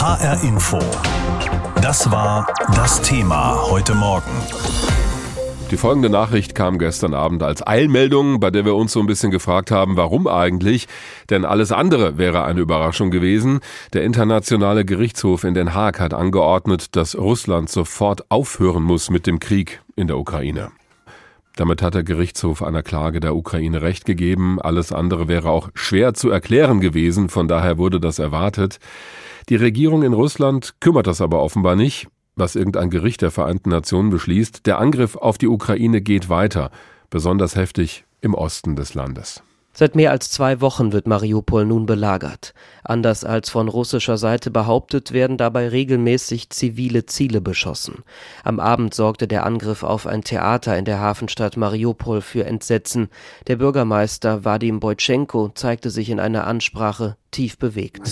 HR Info. Das war das Thema heute Morgen. Die folgende Nachricht kam gestern Abend als Eilmeldung, bei der wir uns so ein bisschen gefragt haben, warum eigentlich? Denn alles andere wäre eine Überraschung gewesen. Der Internationale Gerichtshof in Den Haag hat angeordnet, dass Russland sofort aufhören muss mit dem Krieg in der Ukraine. Damit hat der Gerichtshof einer Klage der Ukraine Recht gegeben. Alles andere wäre auch schwer zu erklären gewesen, von daher wurde das erwartet. Die Regierung in Russland kümmert das aber offenbar nicht, was irgendein Gericht der Vereinten Nationen beschließt. Der Angriff auf die Ukraine geht weiter, besonders heftig im Osten des Landes. Seit mehr als 2 Wochen wird Mariupol nun belagert. Anders als von russischer Seite behauptet, werden dabei regelmäßig zivile Ziele beschossen. Am Abend sorgte der Angriff auf ein Theater in der Hafenstadt Mariupol für Entsetzen. Der Bürgermeister Wadim Boytschenko zeigte sich in einer Ansprache tief bewegt.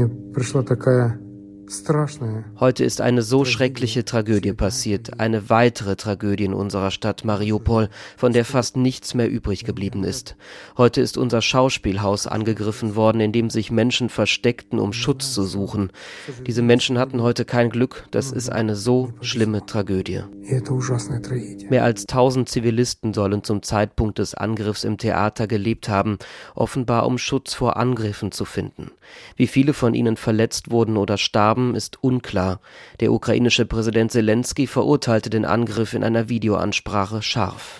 Heute ist eine so schreckliche Tragödie passiert, eine weitere Tragödie in unserer Stadt Mariupol, von der fast nichts mehr übrig geblieben ist. Heute ist unser Schauspielhaus angegriffen worden, in dem sich Menschen versteckten, um Schutz zu suchen. Diese Menschen hatten heute kein Glück, das ist eine so schlimme Tragödie. Mehr als 1000 Zivilisten sollen zum Zeitpunkt des Angriffs im Theater gelebt haben, offenbar um Schutz vor Angriffen zu finden. Wie viele von ihnen verletzt wurden oder starben, ist unklar. Der ukrainische Präsident Selenskyj verurteilte den Angriff in einer Videoansprache scharf.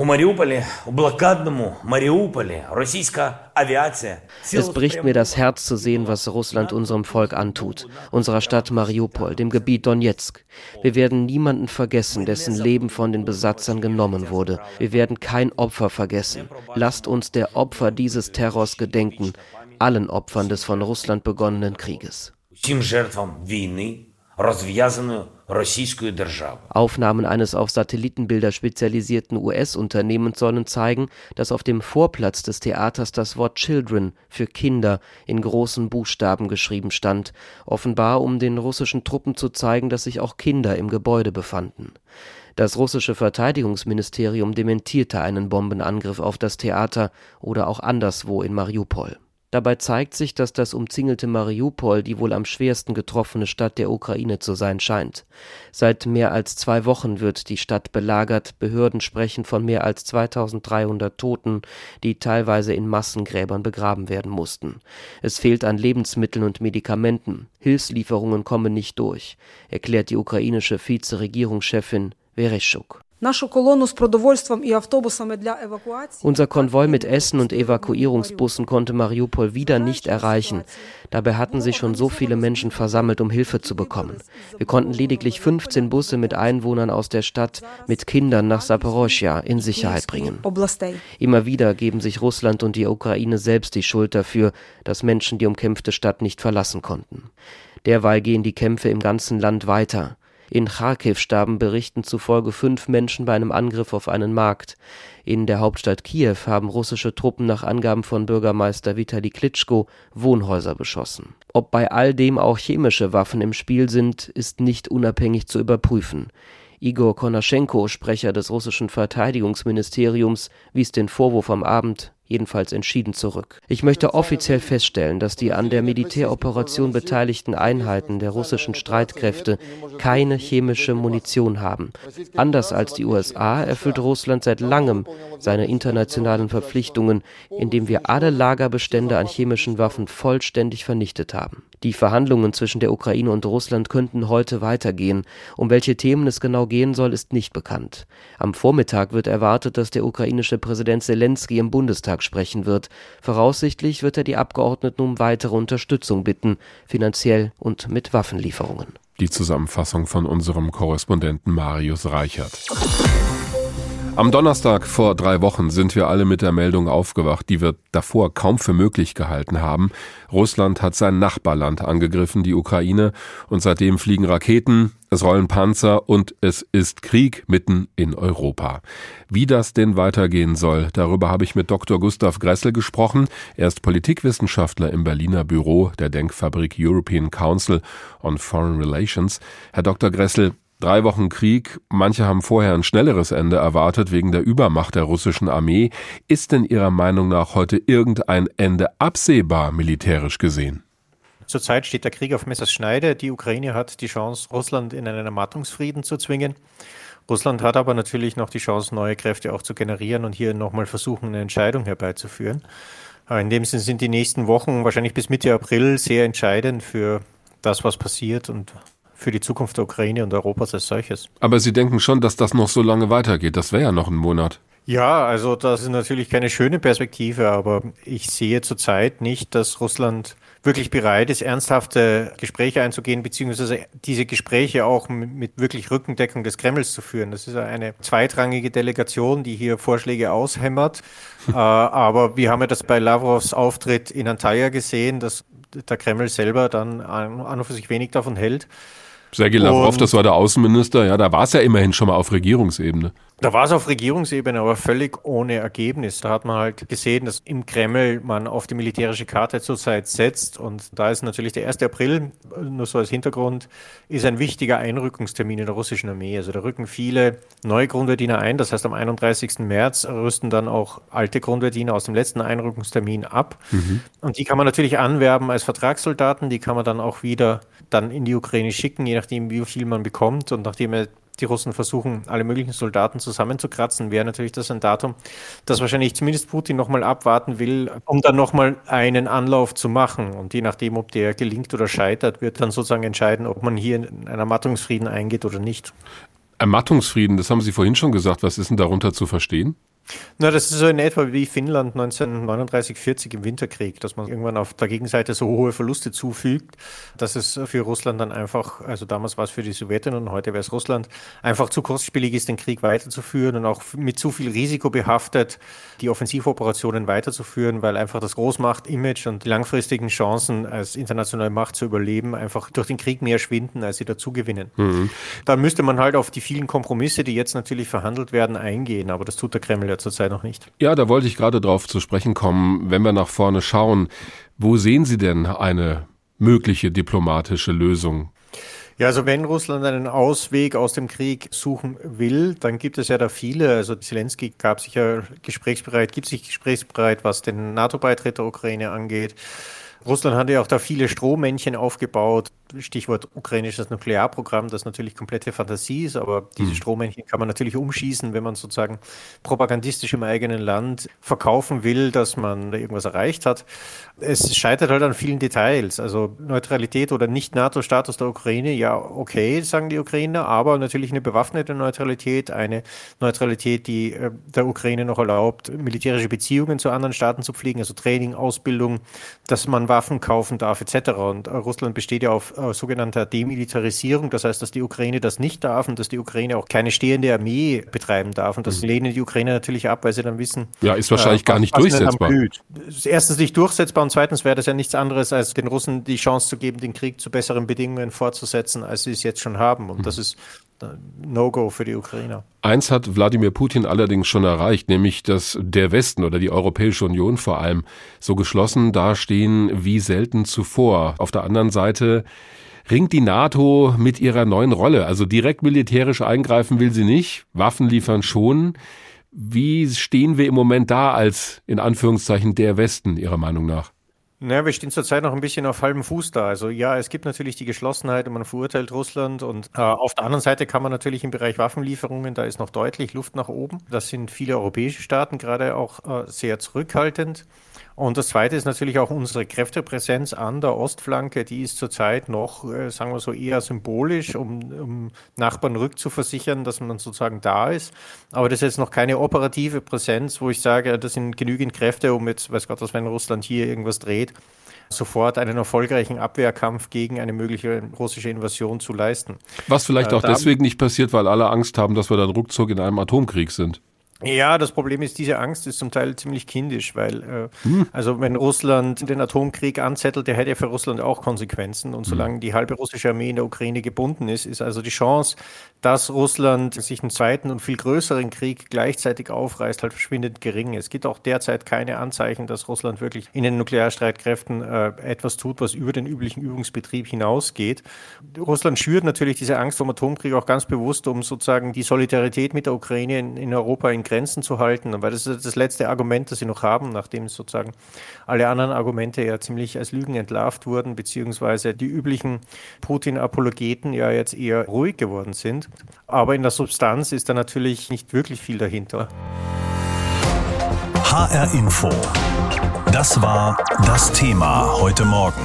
Es bricht mir das Herz zu sehen, was Russland unserem Volk antut, unserer Stadt Mariupol, dem Gebiet Donezk. Wir werden niemanden vergessen, dessen Leben von den Besatzern genommen wurde. Wir werden kein Opfer vergessen. Lasst uns der Opfer dieses Terrors gedenken, allen Opfern des von Russland begonnenen Krieges. Aufnahmen eines auf Satellitenbilder spezialisierten US-Unternehmens sollen zeigen, dass auf dem Vorplatz des Theaters das Wort Children für Kinder in großen Buchstaben geschrieben stand, offenbar um den russischen Truppen zu zeigen, dass sich auch Kinder im Gebäude befanden. Das russische Verteidigungsministerium dementierte einen Bombenangriff auf das Theater oder auch anderswo in Mariupol. Dabei zeigt sich, dass das umzingelte Mariupol die wohl am schwersten getroffene Stadt der Ukraine zu sein scheint. Seit mehr als 2 Wochen wird die Stadt belagert. Behörden sprechen von mehr als 2300 Toten, die teilweise in Massengräbern begraben werden mussten. Es fehlt an Lebensmitteln und Medikamenten. Hilfslieferungen kommen nicht durch, erklärt die ukrainische Vizeregierungschefin Vereshchuk. Unser Konvoi mit Essen und Evakuierungsbussen konnte Mariupol wieder nicht erreichen. Dabei hatten sich schon so viele Menschen versammelt, um Hilfe zu bekommen. Wir konnten lediglich 15 Busse mit Einwohnern aus der Stadt mit Kindern nach Saporoschja in Sicherheit bringen. Immer wieder geben sich Russland und die Ukraine selbst die Schuld dafür, dass Menschen die umkämpfte Stadt nicht verlassen konnten. Derweil gehen die Kämpfe im ganzen Land weiter. In Charkiw starben Berichten zufolge 5 Menschen bei einem Angriff auf einen Markt. In der Hauptstadt Kiew haben russische Truppen nach Angaben von Bürgermeister Vitali Klitschko Wohnhäuser beschossen. Ob bei all dem auch chemische Waffen im Spiel sind, ist nicht unabhängig zu überprüfen. Igor Konaschenko, Sprecher des russischen Verteidigungsministeriums, wies den Vorwurf am Abend jedenfalls entschieden zurück. Ich möchte offiziell feststellen, dass die an der Militäroperation beteiligten Einheiten der russischen Streitkräfte keine chemische Munition haben. Anders als die USA erfüllt Russland seit langem seine internationalen Verpflichtungen, indem wir alle Lagerbestände an chemischen Waffen vollständig vernichtet haben. Die Verhandlungen zwischen der Ukraine und Russland könnten heute weitergehen. Um welche Themen es genau gehen soll, ist nicht bekannt. Am Vormittag wird erwartet, dass der ukrainische Präsident Selenskyj im Bundestag sprechen wird. Voraussichtlich wird er die Abgeordneten um weitere Unterstützung bitten, finanziell und mit Waffenlieferungen. Die Zusammenfassung von unserem Korrespondenten Marius Reichert. Am Donnerstag vor 3 Wochen sind wir alle mit der Meldung aufgewacht, die wir davor kaum für möglich gehalten haben. Russland hat sein Nachbarland angegriffen, die Ukraine, und seitdem fliegen Raketen, es rollen Panzer und es ist Krieg mitten in Europa. Wie das denn weitergehen soll, darüber habe ich mit Dr. Gustav Gressel gesprochen. Er ist Politikwissenschaftler im Berliner Büro der Denkfabrik European Council on Foreign Relations. Herr Dr. Gressel, 3 Wochen Krieg, manche haben vorher ein schnelleres Ende erwartet wegen der Übermacht der russischen Armee. Ist denn Ihrer Meinung nach heute irgendein Ende absehbar, militärisch gesehen? Zurzeit steht der Krieg auf Messers Schneide. Die Ukraine hat die Chance, Russland in einen Ermattungsfrieden zu zwingen. Russland hat aber natürlich noch die Chance, neue Kräfte auch zu generieren und hier nochmal versuchen, eine Entscheidung herbeizuführen. In dem Sinne sind die nächsten Wochen, wahrscheinlich bis Mitte April, sehr entscheidend für das, was passiert und für die Zukunft der Ukraine und Europas als solches. Aber Sie denken schon, dass das noch so lange weitergeht? Das wäre ja noch ein Monat. Ja, also das ist natürlich keine schöne Perspektive, aber ich sehe zurzeit nicht, dass Russland wirklich bereit ist, ernsthafte Gespräche einzugehen, beziehungsweise diese Gespräche auch mit wirklich Rückendeckung des Kremls zu führen. Das ist eine zweitrangige Delegation, die hier Vorschläge aushämmert. Aber wir haben ja das bei Lavrovs Auftritt in Antalya gesehen, dass der Kreml selber dann an und für sich wenig davon hält. Sergei Lavrov, das war der Außenminister, ja, da war es ja immerhin schon mal auf Regierungsebene. Da war es auf Regierungsebene, aber völlig ohne Ergebnis. Da hat man halt gesehen, dass im Kreml man auf die militärische Karte zurzeit setzt. Und da ist natürlich der 1. April, nur so als Hintergrund, ist ein wichtiger Einrückungstermin in der russischen Armee. Also da rücken viele neue Grundwehrdiener ein. Das heißt, am 31. März rüsten dann auch alte Grundwehrdiener aus dem letzten Einrückungstermin ab. Und die kann man natürlich anwerben als Vertragssoldaten. Die kann man dann auch wieder dann in die Ukraine schicken, je nachdem, wie viel man bekommt. Und nachdem die Russen versuchen, alle möglichen Soldaten zusammenzukratzen, wäre natürlich das ein Datum, das wahrscheinlich zumindest Putin nochmal abwarten will, um dann nochmal einen Anlauf zu machen. Und je nachdem, ob der gelingt oder scheitert, wird dann sozusagen entscheiden, ob man hier in einen Ermattungsfrieden eingeht oder nicht. Ermattungsfrieden, das haben Sie vorhin schon gesagt. Was ist denn darunter zu verstehen? Na, das ist so in etwa wie Finnland 1939-40 im Winterkrieg, dass man irgendwann auf der Gegenseite so hohe Verluste zufügt, dass es für Russland dann einfach, also damals war es für die Sowjetunion, heute wäre es Russland, einfach zu kostspielig ist, den Krieg weiterzuführen und auch mit zu viel Risiko behaftet, die Offensivoperationen weiterzuführen, weil einfach das Großmacht-Image und die langfristigen Chancen als internationale Macht zu überleben einfach durch den Krieg mehr schwinden, als sie dazu gewinnen. Da müsste man halt auf die vielen Kompromisse, die jetzt natürlich verhandelt werden, eingehen, aber das tut der Kreml zurzeit noch nicht. Ja, da wollte ich gerade drauf zu sprechen kommen. Wenn wir nach vorne schauen, wo sehen Sie denn eine mögliche diplomatische Lösung? Ja, also wenn Russland einen Ausweg aus dem Krieg suchen will, dann gibt es ja da viele. Also Zelensky gibt sich gesprächsbereit, was den NATO-Beitritt der Ukraine angeht. Russland hat ja auch da viele Strohmännchen aufgebaut. Stichwort ukrainisches Nuklearprogramm, das natürlich komplette Fantasie ist, aber diese Strohmännchen kann man natürlich umschießen, wenn man sozusagen propagandistisch im eigenen Land verkaufen will, dass man da irgendwas erreicht hat. Es scheitert halt an vielen Details, also Neutralität oder Nicht-NATO-Status der Ukraine, ja okay, sagen die Ukrainer, aber natürlich eine bewaffnete Neutralität, eine Neutralität, die der Ukraine noch erlaubt, militärische Beziehungen zu anderen Staaten zu pflegen, also Training, Ausbildung, dass man Waffen kaufen darf etc. Und Russland besteht ja auf sogenannter Demilitarisierung, das heißt, dass die Ukraine das nicht darf und dass die Ukraine auch keine stehende Armee betreiben darf. Und das lehnen die Ukrainer natürlich ab, weil sie dann wissen, ja, ist wahrscheinlich gar nicht durchsetzbar. Erstens nicht durchsetzbar und zweitens wäre das ja nichts anderes, als den Russen die Chance zu geben, den Krieg zu besseren Bedingungen fortzusetzen, als sie es jetzt schon haben. Und das ist No-Go für die Ukrainer. Eins hat Wladimir Putin allerdings schon erreicht, nämlich, dass der Westen oder die Europäische Union vor allem so geschlossen dastehen wie selten zuvor. Auf der anderen Seite ringt die NATO mit ihrer neuen Rolle. Also direkt militärisch eingreifen will sie nicht, Waffen liefern schon. Wie stehen wir im Moment da als, in Anführungszeichen, der Westen, Ihrer Meinung nach? Naja, wir stehen zurzeit noch ein bisschen auf halbem Fuß da. Also ja, es gibt natürlich die Geschlossenheit und man verurteilt Russland und auf der anderen Seite kann man natürlich im Bereich Waffenlieferungen, da ist noch deutlich Luft nach oben. Das sind viele europäische Staaten gerade auch sehr zurückhaltend. Und das Zweite ist natürlich auch unsere Kräftepräsenz an der Ostflanke, die ist zurzeit noch, sagen wir so, eher symbolisch, um Nachbarn rückzuversichern, dass man sozusagen da ist. Aber das ist jetzt noch keine operative Präsenz, wo ich sage, das sind genügend Kräfte, um jetzt, weiß Gott, was, wenn Russland hier irgendwas dreht, sofort einen erfolgreichen Abwehrkampf gegen eine mögliche russische Invasion zu leisten. Was vielleicht auch deswegen nicht passiert, weil alle Angst haben, dass wir dann ruckzuck in einem Atomkrieg sind. Ja, das Problem ist, diese Angst ist zum Teil ziemlich kindisch, weil also wenn Russland den Atomkrieg anzettelt, der hätte ja für Russland auch Konsequenzen. Und solange die halbe russische Armee in der Ukraine gebunden ist, ist also die Chance, dass Russland sich einen zweiten und viel größeren Krieg gleichzeitig aufreißt, halt verschwindend gering. Es gibt auch derzeit keine Anzeichen, dass Russland wirklich in den Nuklearstreitkräften etwas tut, was über den üblichen Übungsbetrieb hinausgeht. Russland schürt natürlich diese Angst vor dem Atomkrieg auch ganz bewusst, um sozusagen die Solidarität mit der Ukraine in Europa in Grenzen zu halten, weil das ist das letzte Argument, das sie noch haben, nachdem sozusagen alle anderen Argumente ja ziemlich als Lügen entlarvt wurden, beziehungsweise die üblichen Putin-Apologeten ja jetzt eher ruhig geworden sind. Aber in der Substanz ist da natürlich nicht wirklich viel dahinter. HR Info. Das war das Thema heute Morgen.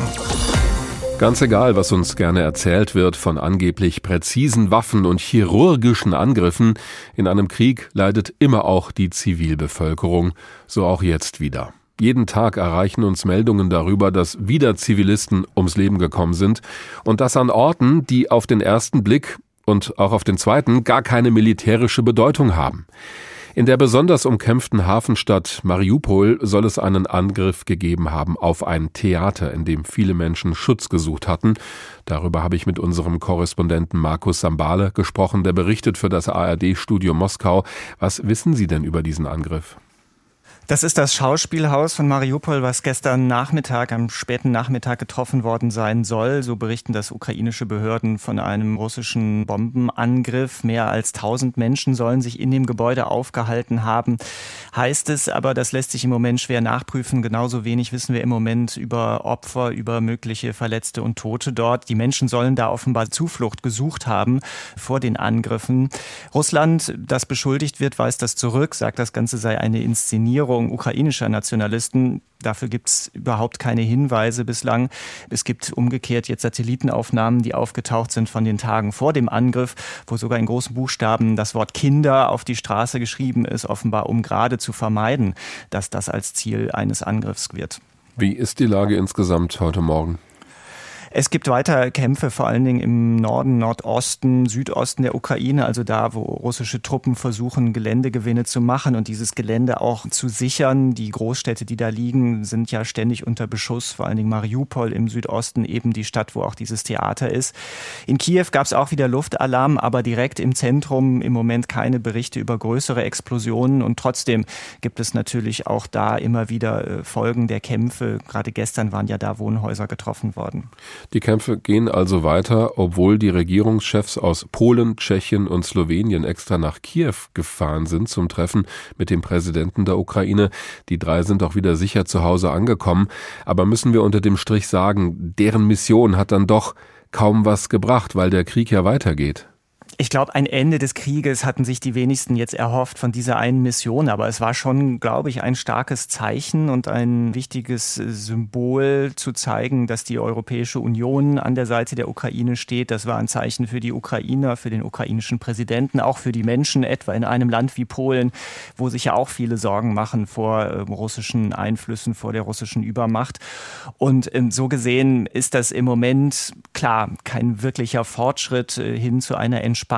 Ganz egal, was uns gerne erzählt wird von angeblich präzisen Waffen und chirurgischen Angriffen, in einem Krieg leidet immer auch die Zivilbevölkerung, so auch jetzt wieder. Jeden Tag erreichen uns Meldungen darüber, dass wieder Zivilisten ums Leben gekommen sind und das an Orten, die auf den ersten Blick und auch auf den zweiten gar keine militärische Bedeutung haben. In der besonders umkämpften Hafenstadt Mariupol soll es einen Angriff gegeben haben auf ein Theater, in dem viele Menschen Schutz gesucht hatten. Darüber habe ich mit unserem Korrespondenten Markus Sambale gesprochen, der berichtet für das ARD-Studio Moskau. Was wissen Sie denn über diesen Angriff? Das ist das Schauspielhaus von Mariupol, was gestern Nachmittag, am späten Nachmittag getroffen worden sein soll. So berichten das ukrainische Behörden von einem russischen Bombenangriff. Mehr als 1000 Menschen sollen sich in dem Gebäude aufgehalten haben, heißt es. Aber das lässt sich im Moment schwer nachprüfen. Genauso wenig wissen wir im Moment über Opfer, über mögliche Verletzte und Tote dort. Die Menschen sollen da offenbar Zuflucht gesucht haben vor den Angriffen. Russland, das beschuldigt wird, weist das zurück, sagt, das Ganze sei eine Inszenierung ukrainischer Nationalisten. Dafür gibt es überhaupt keine Hinweise bislang. Es gibt umgekehrt jetzt Satellitenaufnahmen, die aufgetaucht sind von den Tagen vor dem Angriff, wo sogar in großen Buchstaben das Wort Kinder auf die Straße geschrieben ist, offenbar um gerade zu vermeiden, dass das als Ziel eines Angriffs wird. Wie ist die Lage insgesamt heute Morgen? Es gibt weiter Kämpfe, vor allen Dingen im Norden, Nordosten, Südosten der Ukraine, also da, wo russische Truppen versuchen, Geländegewinne zu machen und dieses Gelände auch zu sichern. Die Großstädte, die da liegen, sind ja ständig unter Beschuss, vor allen Dingen Mariupol im Südosten, eben die Stadt, wo auch dieses Theater ist. In Kiew gab es auch wieder Luftalarm, aber direkt im Zentrum im Moment keine Berichte über größere Explosionen und trotzdem gibt es natürlich auch da immer wieder Folgen der Kämpfe. Gerade gestern waren ja da Wohnhäuser getroffen worden. Die Kämpfe gehen also weiter, obwohl die Regierungschefs aus Polen, Tschechien und Slowenien extra nach Kiew gefahren sind zum Treffen mit dem Präsidenten der Ukraine. Die 3 sind auch wieder sicher zu Hause angekommen. Aber müssen wir unter dem Strich sagen, deren Mission hat dann doch kaum was gebracht, weil der Krieg ja weitergeht. Ich glaube, ein Ende des Krieges hatten sich die wenigsten jetzt erhofft von dieser einen Mission. Aber es war schon, glaube ich, ein starkes Zeichen und ein wichtiges Symbol zu zeigen, dass die Europäische Union an der Seite der Ukraine steht. Das war ein Zeichen für die Ukrainer, für den ukrainischen Präsidenten, auch für die Menschen, etwa in einem Land wie Polen, wo sich ja auch viele Sorgen machen vor russischen Einflüssen, vor der russischen Übermacht. Und so gesehen ist das im Moment, klar, kein wirklicher Fortschritt hin zu einer Entspannung,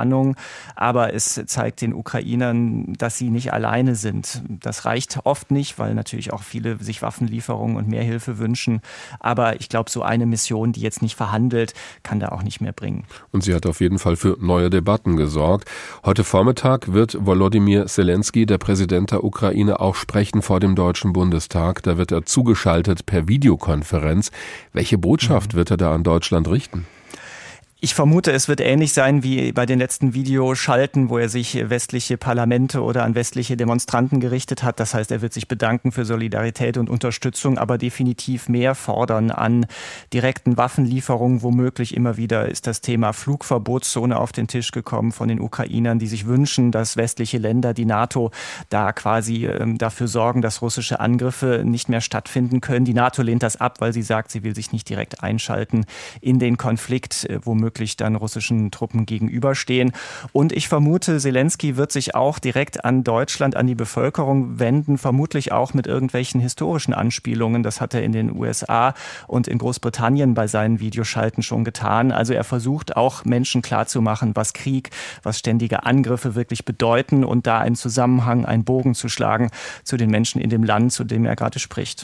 aber es zeigt den Ukrainern, dass sie nicht alleine sind. Das reicht oft nicht, weil natürlich auch viele sich Waffenlieferungen und mehr Hilfe wünschen. Aber ich glaube, so eine Mission, die jetzt nicht verhandelt, kann da auch nicht mehr bringen. Und sie hat auf jeden Fall für neue Debatten gesorgt. Heute Vormittag wird Volodymyr Zelensky, der Präsident der Ukraine, auch sprechen vor dem Deutschen Bundestag. Da wird er zugeschaltet per Videokonferenz. Welche Botschaft wird er da an Deutschland richten? Ich vermute, es wird ähnlich sein wie bei den letzten Videoschalten, wo er sich westliche Parlamente oder an westliche Demonstranten gerichtet hat. Das heißt, er wird sich bedanken für Solidarität und Unterstützung, aber definitiv mehr fordern an direkten Waffenlieferungen. Womöglich immer wieder ist das Thema Flugverbotszone auf den Tisch gekommen von den Ukrainern, die sich wünschen, dass westliche Länder, die NATO, da quasi dafür sorgen, dass russische Angriffe nicht mehr stattfinden können. Die NATO lehnt das ab, weil sie sagt, sie will sich nicht direkt einschalten in den Konflikt, womöglich dann russischen Truppen gegenüberstehen. Und ich vermute, Zelensky wird sich auch direkt an Deutschland, an die Bevölkerung wenden, vermutlich auch mit irgendwelchen historischen Anspielungen. Das hat er in den USA und in Großbritannien bei seinen Videoschalten schon getan. Also er versucht auch Menschen klarzumachen, was Krieg, was ständige Angriffe wirklich bedeuten und da einen Zusammenhang, einen Bogen zu schlagen zu den Menschen in dem Land, zu dem er gerade spricht.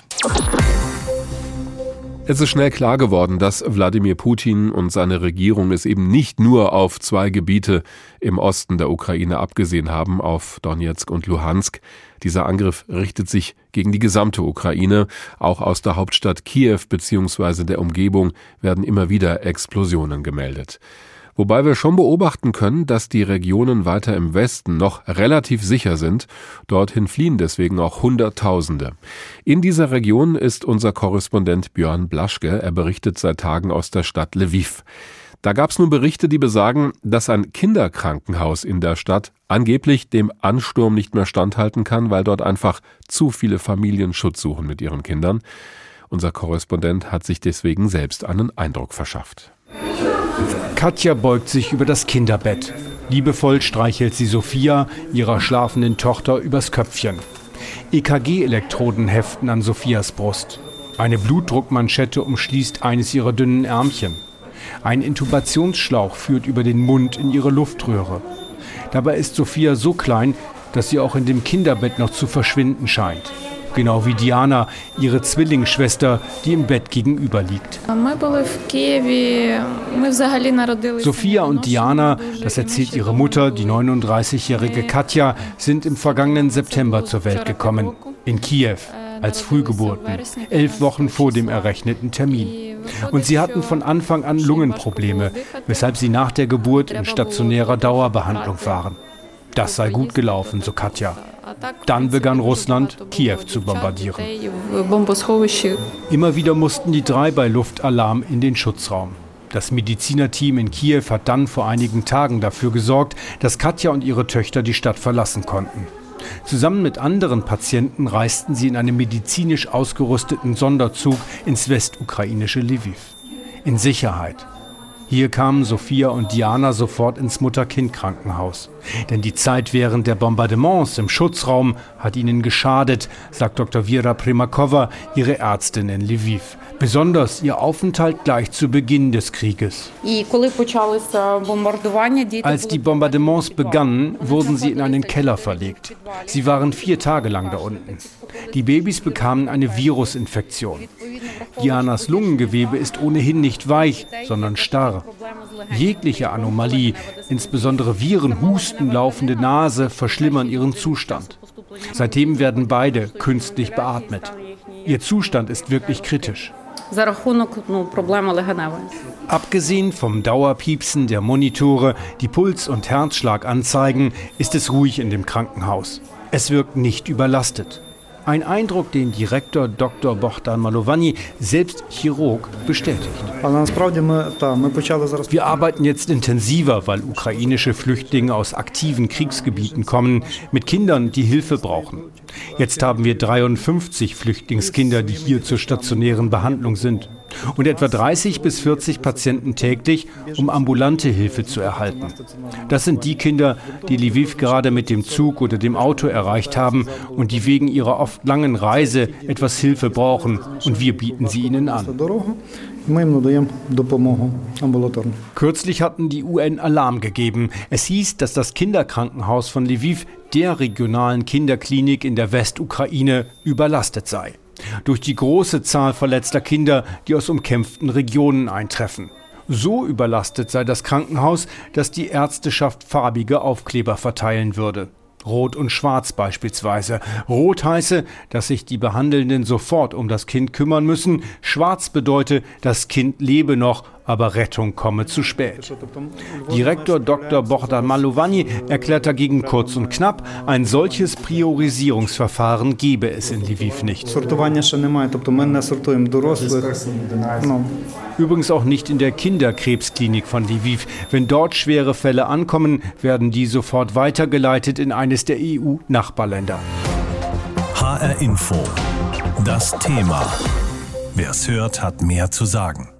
Es ist schnell klar geworden, dass Wladimir Putin und seine Regierung es eben nicht nur auf 2 Gebiete im Osten der Ukraine abgesehen haben, auf Donetsk und Luhansk. Dieser Angriff richtet sich gegen die gesamte Ukraine. Auch aus der Hauptstadt Kiew bzw. der Umgebung werden immer wieder Explosionen gemeldet. Wobei wir schon beobachten können, dass die Regionen weiter im Westen noch relativ sicher sind. Dorthin fliehen deswegen auch Hunderttausende. In dieser Region ist unser Korrespondent Björn Blaschke. Er berichtet seit Tagen aus der Stadt Lviv. Da gab es nun Berichte, die besagen, dass ein Kinderkrankenhaus in der Stadt angeblich dem Ansturm nicht mehr standhalten kann, weil dort einfach zu viele Familien Schutz suchen mit ihren Kindern. Unser Korrespondent hat sich deswegen selbst einen Eindruck verschafft. Katja beugt sich über das Kinderbett. Liebevoll streichelt sie Sophia, ihrer schlafenden Tochter, übers Köpfchen. EKG-Elektroden heften an Sophias Brust. Eine Blutdruckmanschette umschließt eines ihrer dünnen Ärmchen. Ein Intubationsschlauch führt über den Mund in ihre Luftröhre. Dabei ist Sophia so klein, dass sie auch in dem Kinderbett noch zu verschwinden scheint. Genau wie Diana, ihre Zwillingsschwester, die im Bett gegenüber liegt. Sophia und Diana, das erzählt ihre Mutter, die 39-jährige Katja, sind im vergangenen September zur Welt gekommen. In Kiew, als Frühgeburten, 11 Wochen vor dem errechneten Termin. Und sie hatten von Anfang an Lungenprobleme, weshalb sie nach der Geburt in stationärer Dauerbehandlung waren. Das sei gut gelaufen, so Katja. Dann begann Russland, Kiew zu bombardieren. Immer wieder mussten die 3 bei Luftalarm in den Schutzraum. Das Medizinerteam in Kiew hat dann vor einigen Tagen dafür gesorgt, dass Katja und ihre Töchter die Stadt verlassen konnten. Zusammen mit anderen Patienten reisten sie in einem medizinisch ausgerüsteten Sonderzug ins westukrainische Lviv. In Sicherheit. Hier kamen Sophia und Diana sofort ins Mutter-Kind-Krankenhaus. Denn die Zeit während der Bombardements im Schutzraum hat ihnen geschadet, sagt Dr. Vera Primakova, ihre Ärztin in Lviv. Besonders ihr Aufenthalt gleich zu Beginn des Krieges. Als die Bombardements begannen, wurden sie in einen Keller verlegt. Sie waren 4 Tage lang da unten. Die Babys bekamen eine Virusinfektion. Dianas Lungengewebe ist ohnehin nicht weich, sondern starr. Jegliche Anomalie, insbesondere Viren, Husten, laufende Nase, verschlimmern ihren Zustand. Seitdem werden beide künstlich beatmet. Ihr Zustand ist wirklich kritisch. Abgesehen vom Dauerpiepsen der Monitore, die Puls- und Herzschlag anzeigen, ist es ruhig in dem Krankenhaus. Es wirkt nicht überlastet. Ein Eindruck, den Direktor Dr. Bohdan Malovanyi, selbst Chirurg, bestätigt. Wir arbeiten jetzt intensiver, weil ukrainische Flüchtlinge aus aktiven Kriegsgebieten kommen, mit Kindern, die Hilfe brauchen. Jetzt haben wir 53 Flüchtlingskinder, die hier zur stationären Behandlung sind. Und etwa 30 bis 40 Patienten täglich, um ambulante Hilfe zu erhalten. Das sind die Kinder, die Lviv gerade mit dem Zug oder dem Auto erreicht haben und die wegen ihrer oft langen Reise etwas Hilfe brauchen. Und wir bieten sie ihnen an. Kürzlich hatten die UN Alarm gegeben. Es hieß, dass das Kinderkrankenhaus von Lviv, der regionalen Kinderklinik in der Westukraine, überlastet sei. Durch die große Zahl verletzter Kinder, die aus umkämpften Regionen eintreffen. So überlastet sei das Krankenhaus, dass die Ärzteschaft farbige Aufkleber verteilen würde. Rot und Schwarz beispielsweise. Rot heiße, dass sich die Behandelnden sofort um das Kind kümmern müssen. Schwarz bedeute, das Kind lebe noch, aber Rettung komme zu spät. Direktor Dr. Bohdan Malovanyi erklärt dagegen kurz und knapp, ein solches Priorisierungsverfahren gebe es in Lviv nicht. Übrigens auch nicht in der Kinderkrebsklinik von Lviv. Wenn dort schwere Fälle ankommen, werden die sofort weitergeleitet in eines der EU-Nachbarländer. HR Info. Das Thema. Wer es hört, hat mehr zu sagen.